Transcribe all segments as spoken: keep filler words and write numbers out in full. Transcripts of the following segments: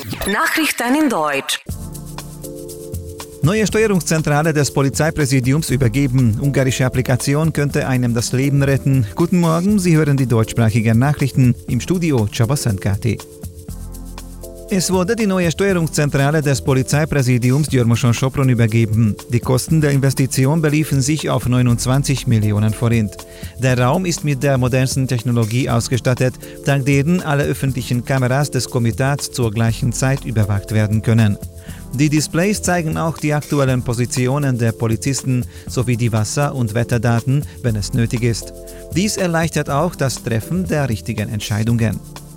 Nachrichten in Deutsch. Neue Steuerungszentrale des Polizeipräsidiums übergeben. Ungarische Applikation könnte einem das Leben retten. Guten Morgen, Sie hören die deutschsprachigen Nachrichten im Studio Csaba Szentkárthy. Es wurde die neue Steuerungszentrale des Polizeipräsidiums Győr-Moson-Sopron übergeben. Die Kosten der Investition beliefen sich auf neunundzwanzig Millionen Forint. Der Raum ist mit der modernsten Technologie ausgestattet, dank deren alle öffentlichen Kameras des Komitats zur gleichen Zeit überwacht werden können. Die Displays zeigen auch die aktuellen Positionen der Polizisten sowie die Wasser- und Wetterdaten, wenn es nötig ist. Dies erleichtert auch das Treffen der richtigen Entscheidungen.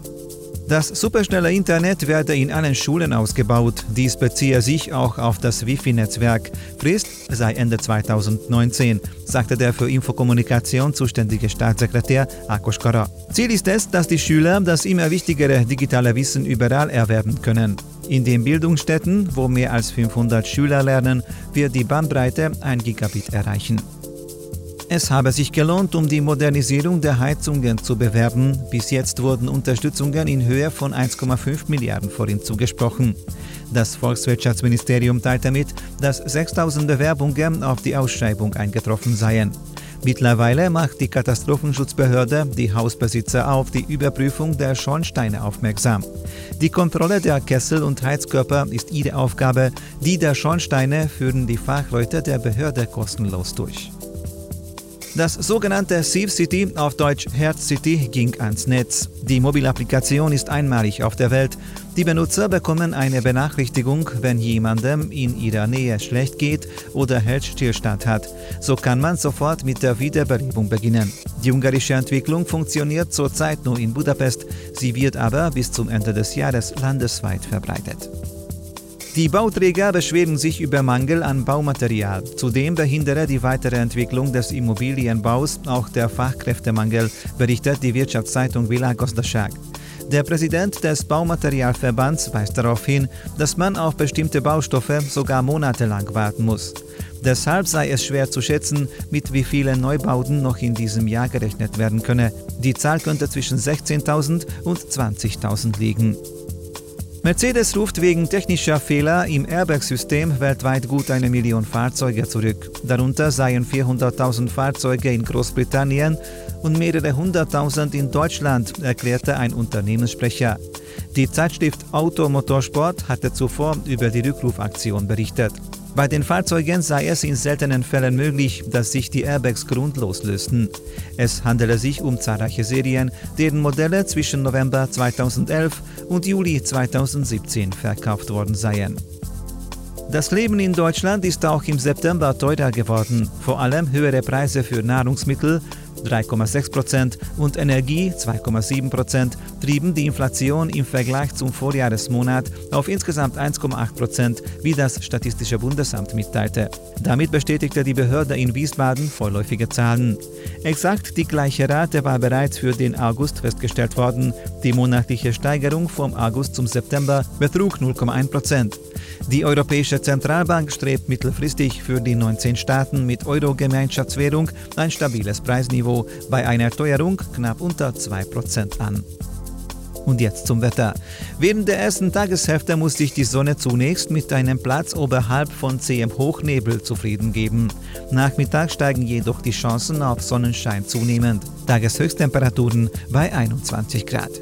Das superschnelle Internet werde in allen Schulen ausgebaut. Dies beziehe sich auch auf das Wi-Fi-Netzwerk. Frist sei Ende zweitausendneunzehn, sagte der für Infokommunikation zuständige Staatssekretär Ákos Kara. Ziel ist es, dass die Schüler das immer wichtigere digitale Wissen überall erwerben können. In den Bildungsstätten, wo mehr als fünfhundert Schüler lernen, wird die Bandbreite ein Gigabit erreichen. Es habe sich gelohnt, um die Modernisierung der Heizungen zu bewerben. Bis jetzt wurden Unterstützungen in Höhe von eins Komma fünf Milliarden Forint zugesprochen. Das Volkswirtschaftsministerium teilte mit, dass sechstausend Bewerbungen auf die Ausschreibung eingetroffen seien. Mittlerweile macht die Katastrophenschutzbehörde die Hausbesitzer auf die Überprüfung der Schornsteine aufmerksam. Die Kontrolle der Kessel und Heizkörper ist ihre Aufgabe, die der Schornsteine führen die Fachleute der Behörde kostenlos durch. Das sogenannte Safe City, auf Deutsch Herz City, ging ans Netz. Die Mobilapplikation ist einmalig auf der Welt. Die Benutzer bekommen eine Benachrichtigung, wenn jemandem in ihrer Nähe schlecht geht oder Herzstillstand hat. So kann man sofort mit der Wiederbelebung beginnen. Die ungarische Entwicklung funktioniert zurzeit nur in Budapest, sie wird aber bis zum Ende des Jahres landesweit verbreitet. Die Bauträger beschweren sich über Mangel an Baumaterial. Zudem behindere die weitere Entwicklung des Immobilienbaus auch der Fachkräftemangel, berichtet die Wirtschaftszeitung Világgazdaság. Der Präsident des Baumaterialverbands weist darauf hin, dass man auf bestimmte Baustoffe sogar monatelang warten muss. Deshalb sei es schwer zu schätzen, mit wie vielen Neubauten noch in diesem Jahr gerechnet werden könne. Die Zahl könnte zwischen sechzehntausend und zwanzigtausend liegen. Mercedes ruft wegen technischer Fehler im Airbag-System weltweit gut eine Million Fahrzeuge zurück. Darunter seien vierhunderttausend Fahrzeuge in Großbritannien und mehrere hunderttausend in Deutschland, erklärte ein Unternehmenssprecher. Die Zeitschrift Auto Motorsport hatte zuvor über die Rückrufaktion berichtet. Bei den Fahrzeugen sei es in seltenen Fällen möglich, dass sich die Airbags grundlos lösten. Es handele sich um zahlreiche Serien, deren Modelle zwischen November zweitausendelf und Juli zweitausendsiebzehn verkauft worden seien. Das Leben in Deutschland ist auch im September teurer geworden. Vor allem höhere Preise für Nahrungsmittel, drei Komma sechs Prozent, und Energie, zwei Komma sieben Prozent, trieben die Inflation im Vergleich zum Vorjahresmonat auf insgesamt eins Komma acht Prozent, wie das Statistische Bundesamt mitteilte. Damit bestätigte die Behörde in Wiesbaden vorläufige Zahlen. Exakt die gleiche Rate war bereits für den August festgestellt worden. Die monatliche Steigerung vom August zum September betrug null Komma eins Prozent. Die Europäische Zentralbank strebt mittelfristig für die neunzehn Staaten mit Euro-Gemeinschaftswährung ein stabiles Preisniveau bei einer Teuerung knapp unter zwei Prozent an. Und jetzt zum Wetter. Während der ersten Tageshälfte muss sich die Sonne zunächst mit einem Platz oberhalb von zähem Hochnebel zufrieden geben. Nachmittag steigen jedoch die Chancen auf Sonnenschein zunehmend. Tageshöchsttemperaturen bei einundzwanzig Grad.